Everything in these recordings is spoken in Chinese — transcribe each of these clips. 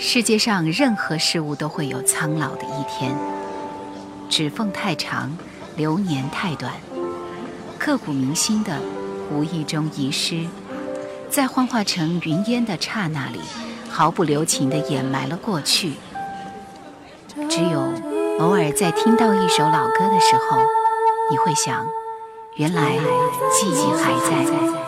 世界上任何事物都会有苍老的一天，指缝太长，流年太短，刻骨铭心的无意中遗失，在幻化成云烟的刹那里，毫不留情地掩埋了过去。只有偶尔在听到一首老歌的时候，你会想，原来记忆还在。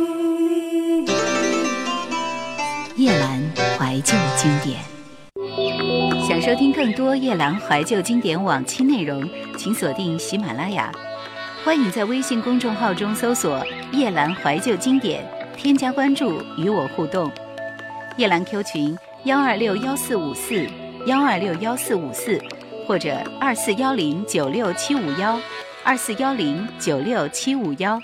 夜阑怀旧经典，想收听更多夜阑怀旧经典往期内容，请锁定喜马拉雅。欢迎在微信公众号中搜索夜阑怀旧经典，添加关注与我互动。夜阑 Q 群1261454，1261454，或者24109671，24109671。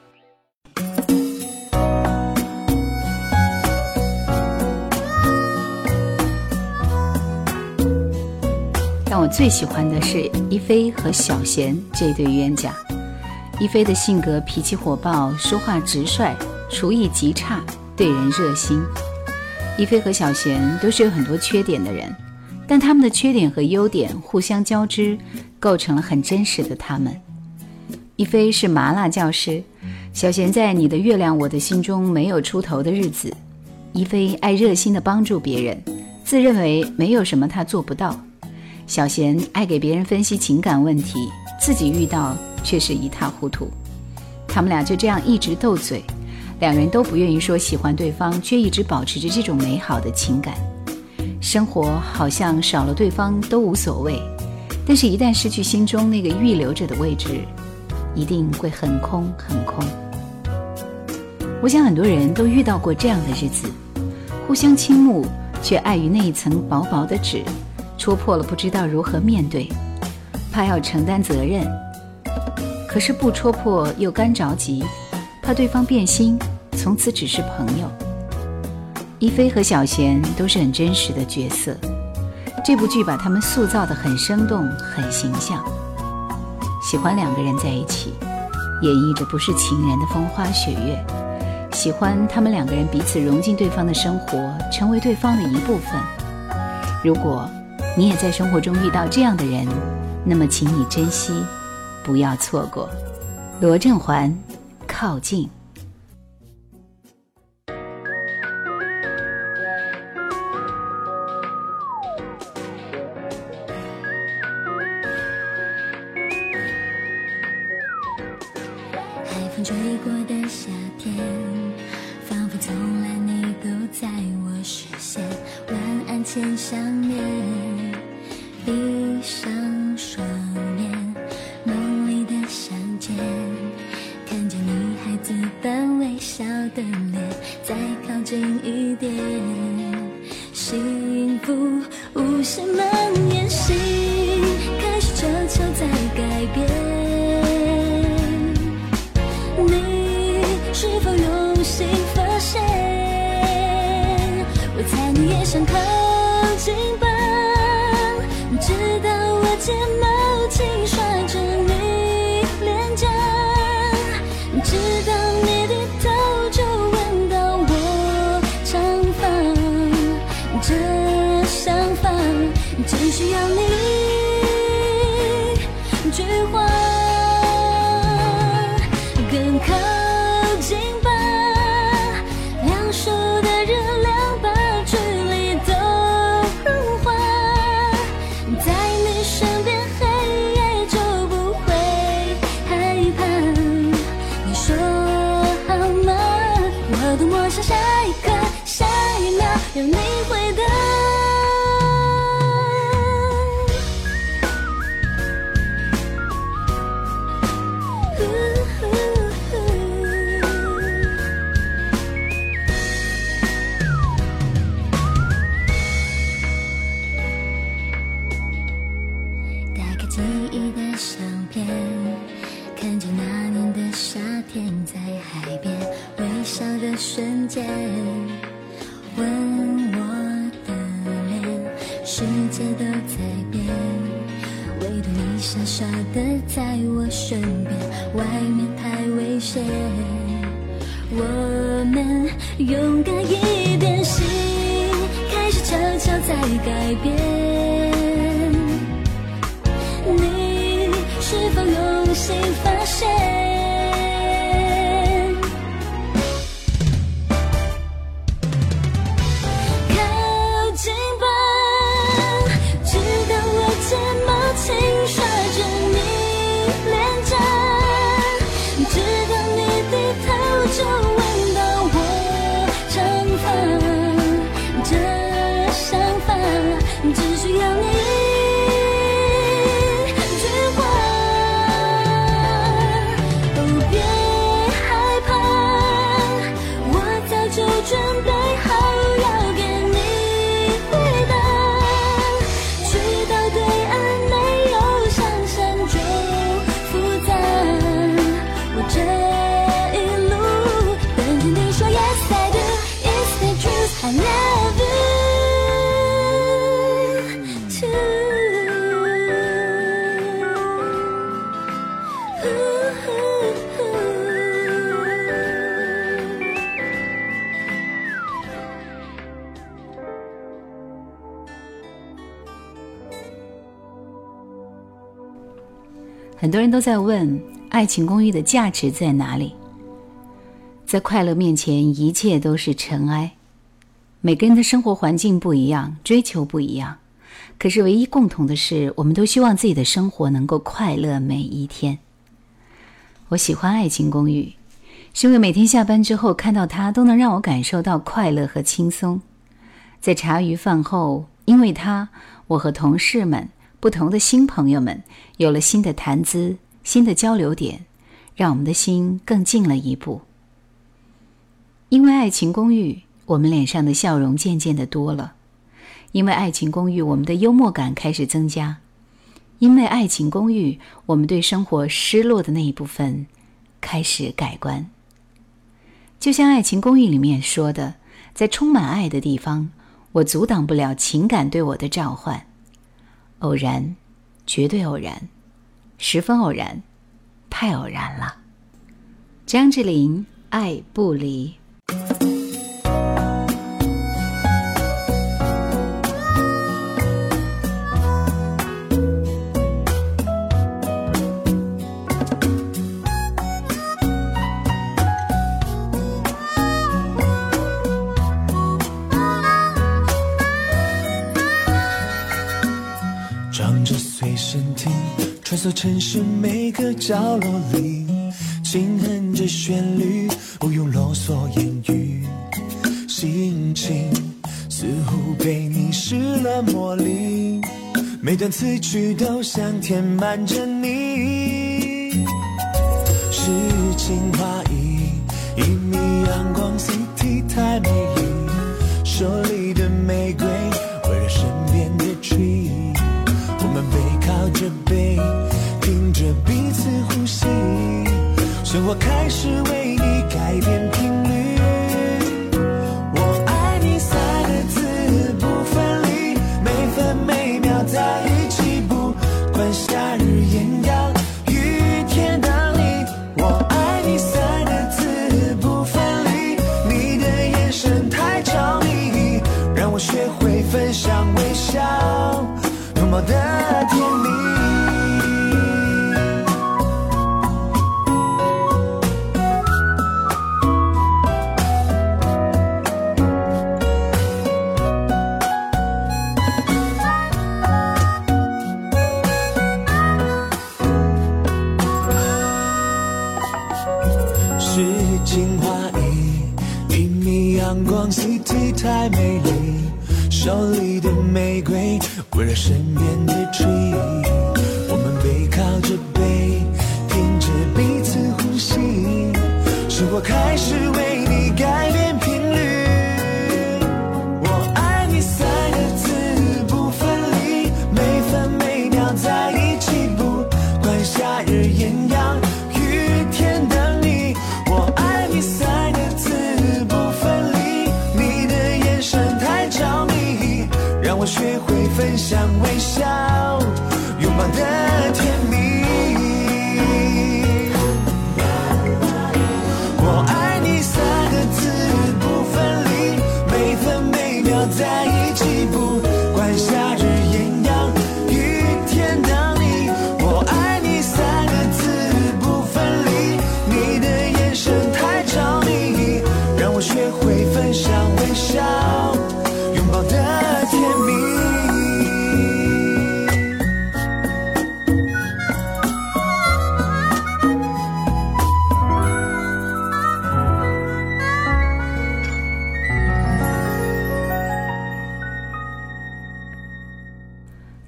但我最喜欢的是一菲和小贤这对冤家。一菲的性格脾气火爆，说话直率，厨艺极差，对人热心。一菲和小贤都是有很多缺点的人，但他们的缺点和优点互相交织，构成了很真实的他们。一菲是麻辣教师，小贤在你的月亮我的心中没有出头的日子。一菲爱热心地帮助别人，自认为没有什么他做不到。小贤爱给别人分析情感问题，自己遇到却是一塌糊涂。他们俩就这样一直斗嘴，两人都不愿意说喜欢对方，却一直保持着这种美好的情感。生活好像少了对方都无所谓，但是一旦失去心中那个预留着的位置，一定会很空很空。我想很多人都遇到过这样的日子，互相倾慕，却碍于那一层薄薄的纸，戳破了不知道如何面对，怕要承担责任，可是不戳破又干着急，怕对方变心，从此只是朋友。一菲和小贤都是很真实的角色，这部剧把他们塑造得很生动很形象。喜欢两个人在一起，演绎着不是情人的风花雪月，喜欢他们两个人彼此融进对方的生活，成为对方的一部分。如果你也在生活中遇到这样的人，那么请你珍惜，不要错过。罗振环，靠近。 海风吹过的夏天，仿佛从来你都在我视线。晚安前想念，闭上双眼，梦里的相见，看见你孩子般微笑的脸，再靠近一点，幸福无限蔓延，心开始悄悄在改变。你是否用心发现，我猜你也想靠近吧，直到我睫毛轻刷着你脸颊，直到你低头就闻到我长发，这想法只需要你一句话，更靠近吧，两手的热量把距离都融化，在你身边黑夜就不会害怕。你说好吗？我多么想下一刻下一秒有你回答。打开记忆的相片，看见那年的夏天，在海边微笑的瞬间，吻我的脸，世界都在变，唯独你傻傻的在我身边，外面太危险，我们勇敢一点，心开始悄悄改变，你是否用心发现？ 很多人都在问爱情公寓的价值在哪里？在快乐面前，一切都是尘埃。每个人的生活环境不一样，追求不一样，可是唯一共同的是，我们都希望自己的生活能够快乐每一天。我喜欢爱情公寓，是因为每天下班之后看到它，都能让我感受到快乐和轻松。在茶余饭后，因为它，我和同事们不同的新朋友们有了新的谈资，新的交流点，让我们的心更近了一步。因为爱情公寓，我们脸上的笑容渐渐的多了。因为爱情公寓，我们的幽默感开始增加。因为爱情公寓，我们对生活失落的那一部分开始改观。就像爱情公寓里面说的，在充满爱的地方，我阻挡不了情感对我的召唤。偶然，绝对偶然，十分偶然，太偶然了。张智霖，爱不离。 装着随身听，穿梭城市每个角落里，轻哼着旋律，不用啰嗦言语，心情似乎被你施了魔力，每段词句都想填满着你。诗情画意，一米阳光 City 太美丽，手里的玫瑰围绕身边的 tree，我们背靠着背，听着彼此呼吸，生活开始为你改变频率。我爱你三个字不分离，每分每秒在一起，不管夏日艳阳雨天等你。我爱你三个字不分离，你的眼神太着迷，让我学会分享微笑，拥抱的甜蜜。诗情画意，一米阳光 City 太美丽，手里的玫瑰围绕身边的 tree， 我们背靠着背，听着彼此呼吸，生活开始为你改变频率。我爱你三个字不分离，每分每秒在一起，不管夏日艳阳雨天等你。我爱你三个字不分离，你的眼神太着迷，让我学会分享微笑，拥抱的甜蜜。我爱你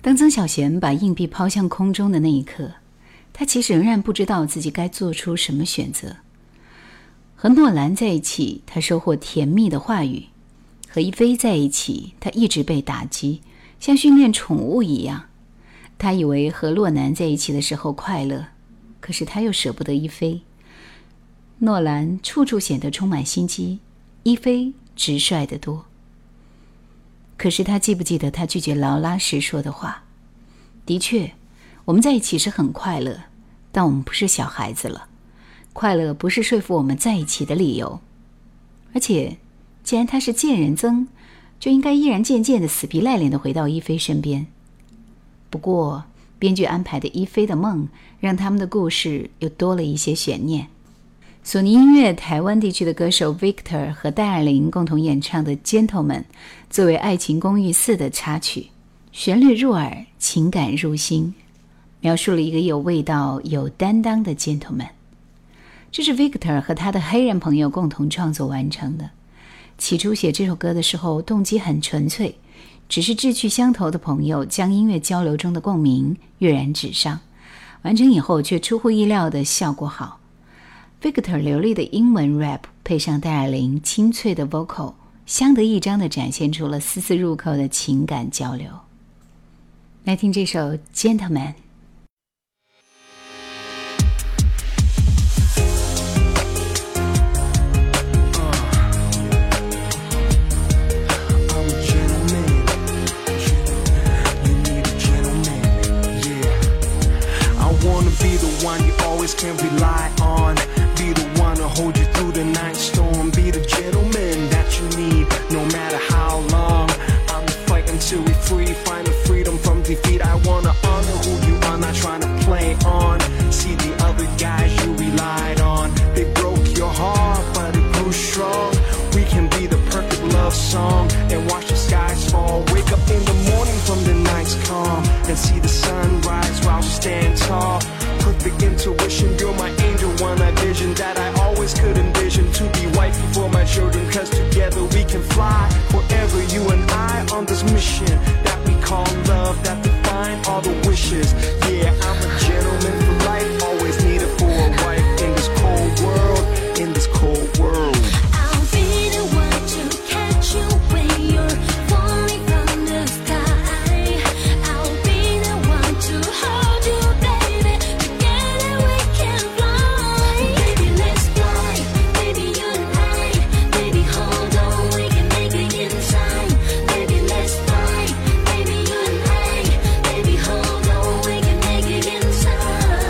当曾小贤把硬币抛向空中的那一刻，他其实仍然不知道自己该做出什么选择。和诺兰在一起，他收获甜蜜的话语；和一菲在一起，他一直被打击，像训练宠物一样。他以为和洛南在一起的时候快乐，可是他又舍不得一菲。诺兰处处显得充满心机，一菲直率得多。可是他记不记得他拒绝劳拉时说的话？的确，我们在一起是很快乐，但我们不是小孩子了。快乐不是说服我们在一起的理由。而且，既然他是贱人曾，就应该依然渐渐地死皮赖脸地回到一菲身边。不过，编剧安排的一菲的梦，让他们的故事又多了一些悬念。索尼音乐台湾地区的歌手 Victor 和戴爱玲共同演唱的 Gentleman 作为《爱情公寓4》的插曲，旋律入耳，情感入心，描述了一个有味道有担当的 Gentleman。 这是 Victor 和他的黑人朋友共同创作完成的。起初写这首歌的时候动机很纯粹，只是志趣相投的朋友将音乐交流中的共鸣跃然纸上，完成以后却出乎意料的效果好。Victor 流利的英文 rap 配上戴爱玲清脆的 vocal， 相得益彰地展现出了丝丝入扣的情感交流。来听这首 Gentleman。 Can rely on, be the one to hold you through the night storm, be the gentleman that you need, no matter how long. I'm fighting till we free, find the freedom from defeat. I wanna honor who you are, not trying to play on. See the other guys you relied on, they broke your heart, but it grew strong. We can be the perfect love song and watch the skies fall. Wake up in the morning from the night's calm and see the sun rise while we stand tall. Perfect intuition, you're my angel, one I vision that I always could envision. To be wifey for my children, cause together we can fly forever, you and I, on this mission that we call love, that define all the wishes. Yeah, I'm a gentleman for life, always needed for a wife in this cold world, in this cold world. I'll be the one to catch you when you're falling from the sky. I'll be the one to hold you, baby. Together we can fly. Baby, let's fly. Baby, you and I. Baby, hold on, we can make it in time. Baby, let's fly. Baby, you and I. Baby, hold on, we can make it in time.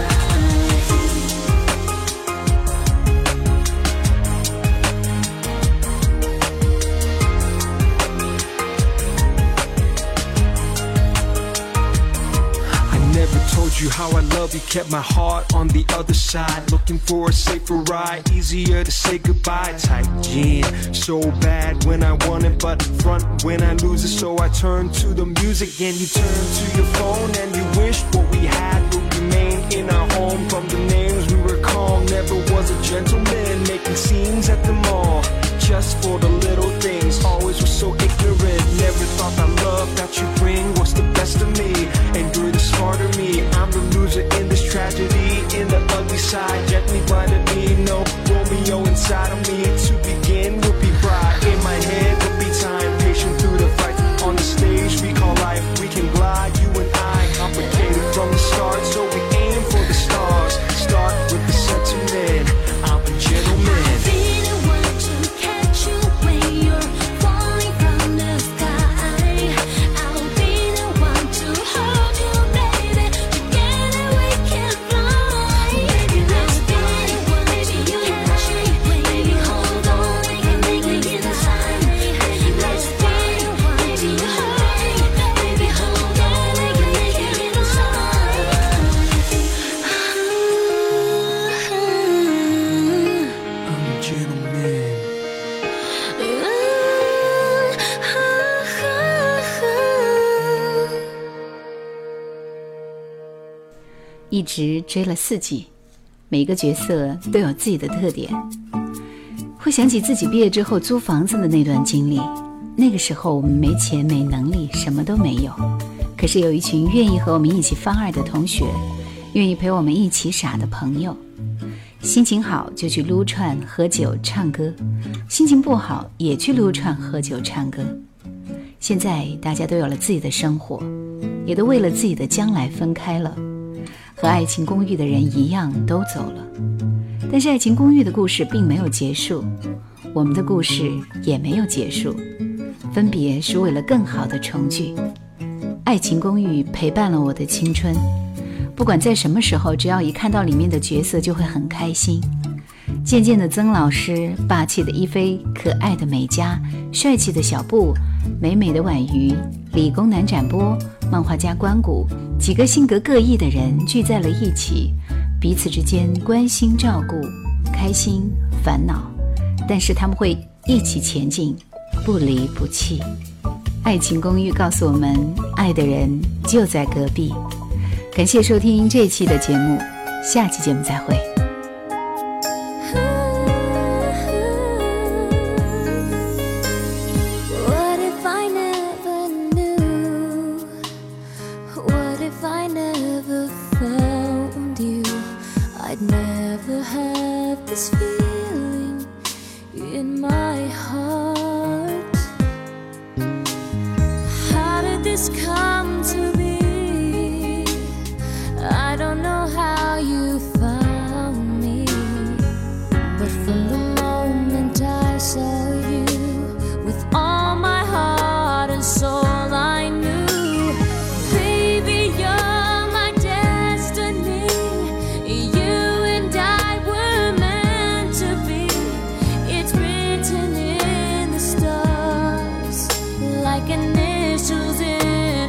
I never told you how I love you, kept my heart on the other side, looking for a safer ride, easier to say goodbye. Tight jean, so bad when I want it, but front when I lose it. So I turn to the music and you turn to your phone, and you wish what we had would remain in our home. From the names we recall, never was a gentleman, making scenes at the mall just for the little things. Always was so ignorant, never thought the love that you bring was the best of me, and you're the smarter me. I'm the loser in this tragedy, in the ugly side, gently blinded me. No Romeo inside of me. To begin would be pride, in my head would be time, patient through the fight. On the stage we call life, we can glide, you and I, complicated from the start, so we aim for the stars. Start with the sentiment, I'm a gentleman. I'll be the one to catch you when you're falling from the sky. I'll be the one to hold you, baby. Together we can fly. Baby, let's fly. Baby, you catch me. Baby, hold on, we can make it in time. Baby, let's fly. Baby, you hurry. Baby, hold on, we can make it in time. I'm a gentleman. 一直追了4季，每个角色都有自己的特点。会想起自己毕业之后租房子的那段经历，那个时候我们没钱没能力，什么都没有， 可是有一群愿意和我们一起放二的同学，愿意陪我们一起傻的朋友。心情好就去撸串喝酒唱歌，心情不好也去撸串喝酒唱歌。现在大家都有了自己的生活，也都为了自己的将来分开了，和爱情公寓的人一样都走了。但是爱情公寓的故事并没有结束，我们的故事也没有结束，分别是为了更好的重聚。爱情公寓陪伴了我的青春，不管在什么时候，只要一看到里面的角色就会很开心。渐渐的曾老师，霸气的一菲，可爱的美嘉，帅气的小布，美美的婉瑜，理工男展波，漫画家关谷，几个性格各异的人聚在了一起，彼此之间关心照顾，开心烦恼，但是他们会一起前进，不离不弃。爱情公寓告诉我们，爱的人就在隔壁。感谢收听这期的节目，下期节目再会。 Come to be, I don't know how you found me, but from the moment I saw you, with all my heart and soul I knew, baby you're my destiny, you and I were meant to be, it's written in the stars, like initials in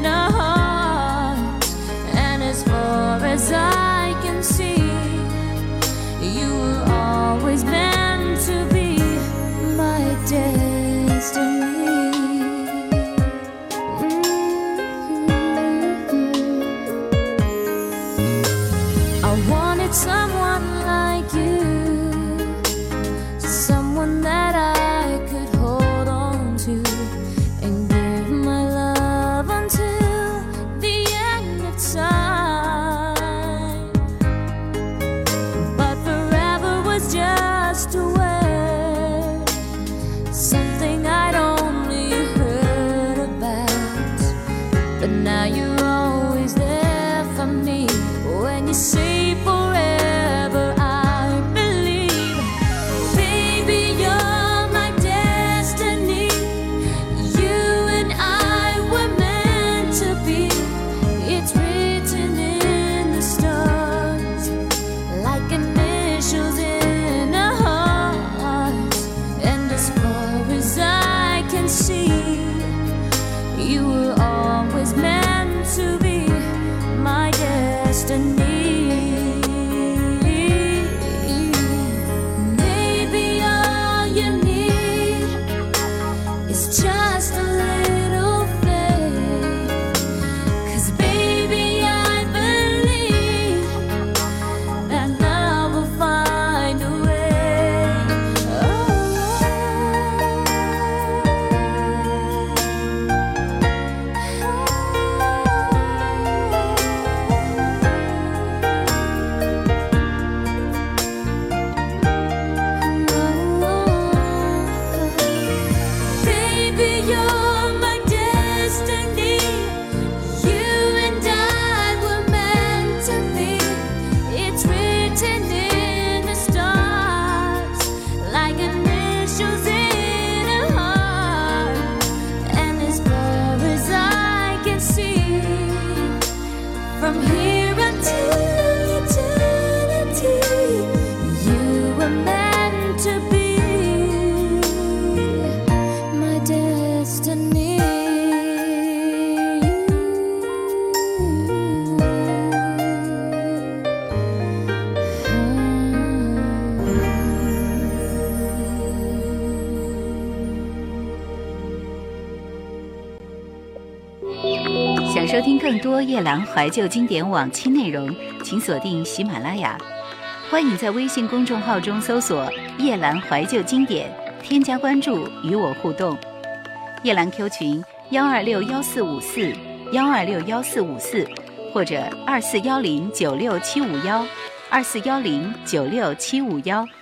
as I can see, you were always meant to be my destiny. I wanted someone like you, someone that I could hold on to and give my love until the end of time. Just a word, something I'd only heard about, but now you're always there for me. When you say forever, I believe, baby you're my destiny, you and I were meant to be, it's written in the stars, like initials in see, you were always meant to be my destiny. Maybe all you need is just a little faith, 'cause baby I believe that love will find a way. From here until eternity, you were meant to be my destiny. 想收听更多夜兰怀旧经典往期内容，请锁定喜马拉雅。欢迎在微信公众号中搜索夜兰怀旧经典，添加关注与我互动。夜兰 Q 群1261454 1261454或者24109671，24109671。